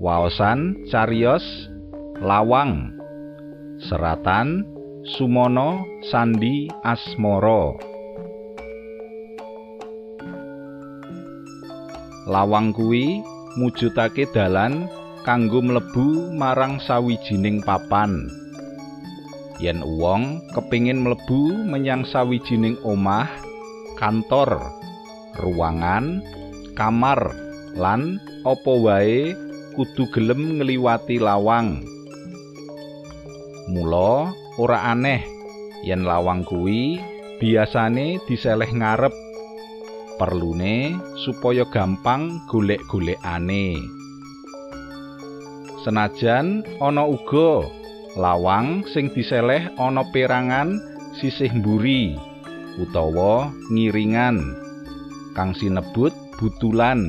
Waosan cariyos Lawang. Seratan Sumono Sandi Asmara. Lawang kuwi mujudake dalan kanggo mlebu marang sawijining papan. Yen wong kepingin mlebu menyang sawijining omah, kantor, ruangan, kamar, lan apa wae kudu gelem ngliwati lawang. Mula ora aneh yen lawang kuwi biasane diseleh ngarep. Perlune supaya gampang golek-golekane. Senajan ana uga lawang sing diseleh ana perangan sisih mburi utawa ngiringan kang sinebut butulan.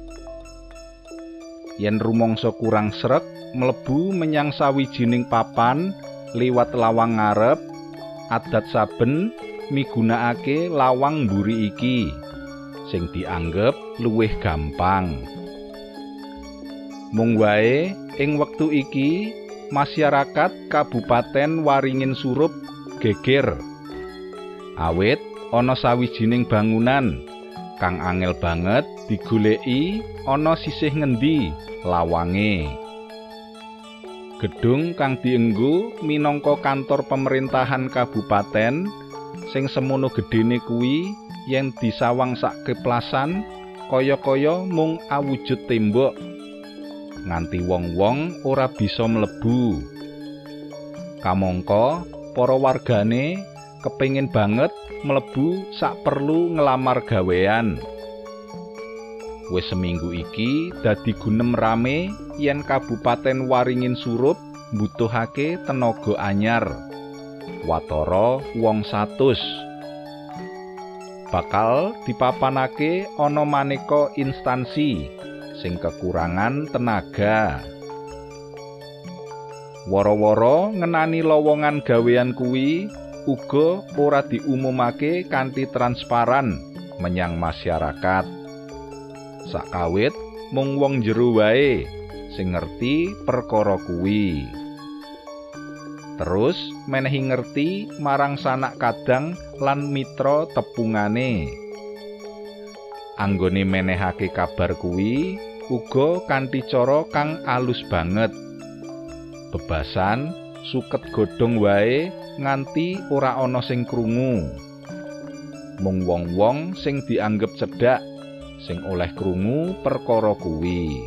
Yen rumangsa kurang sreg mlebu menyang sawijining papan liwat lawang ngarep, adat saben migunakake lawang mburi iki sing dianggep luwih gampang. Mung wae ing wektu iki masyarakat Kabupaten Waringin Surup geger awit ana sawijining bangunan kang angel banget digoleki ana sisih ngendi lawange. Gedung kang dienggo minangka kantor pemerintahan kabupaten sing semono gedene kuwi yen disawang sak keplasan kaya-kaya mung awujud tembok nganti wong-wong ora bisa mlebu. Kamangka para wargane kepengin banget mlebu sak perlu ngelamar gawean. Wis seminggu iki dadi gunem rame yen Kabupaten Waringin Surup mbutuhake tenaga anyar. Watara wong 100. Bakal dipapanake ana maneka instansi sing kekurangan tenaga. Wara-wara ngenani lowongan gawean kuwi uga ora diumumake kanthi transparan menyang masyarakat. Sakawit mung wong jero wae sing ngerti perkara kuwi. Terus menehi ngerti marang sanak kadang lan mitra tepungane. Anggone menehake kabar kuwi uga kanthi cara kang alus banget. Bebasan suket godhong wae nganti ora ana sing krungu. Mung wong-wong sing dianggep cedhak sing oleh krungu perkara kuwi.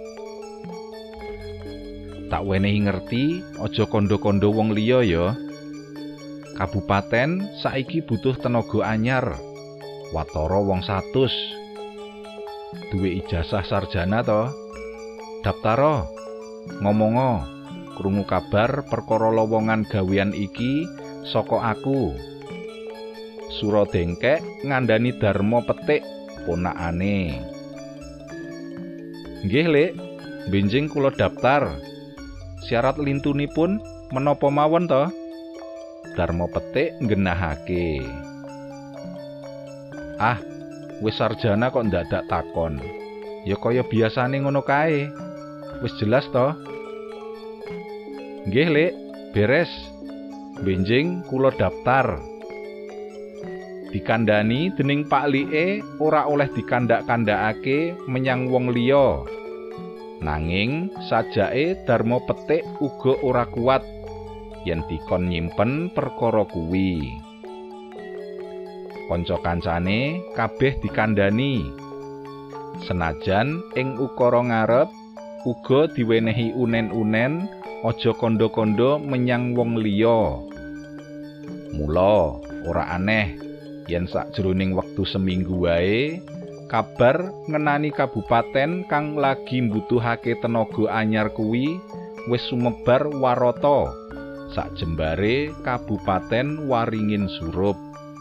Tak wenehi ngerti aja kandha-kandha wong liya ya. Kabupaten saiki butuh tenaga anyar. Watara wong 100. Duwe ijazah sarjana to. Daftara. Ngomongo. Krungu kabar perkara lowongan gawean iki saka aku. Sura dengkek ngandani Darmo Petik ponakane. Nggih, Lek. Benjing kula daftar. Syarat lintunipun menapa mawon to? Darmo Petik nggenahake. Ah, wis sarjana kok ndadak takon. Ya kaya biasane ngono kae. Wis jelas to? Nggih, Lek, beres. Benjing kula daftar. Dikandani dening Pak Like ora oleh dikandak-kandakake menyang wong liya. Nanging sajake Darmo Petik uga ora kuat yen dikon nyimpen perkara kuwi. Kanca kancane kabeh dikandani. Senajan ing ukara ngarep uga diwenehi unen-unen aja kandha-kandha menyang wong liya. Mula ora aneh yen sakjroning wektu seminggu wae kabar ngenani kabupaten kang lagi mbutuhake tenaga anyar kuwi wis sumebar warata sak jembare Kabupaten Waringin Surup.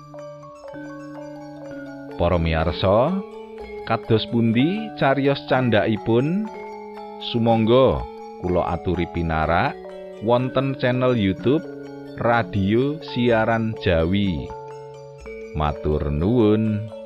Para miyarsa, kados pundi cariyos candhakipun? Sumangga kula aturi pinarak wonten channel YouTube Radio Siaran Jawi. Matur nuwun.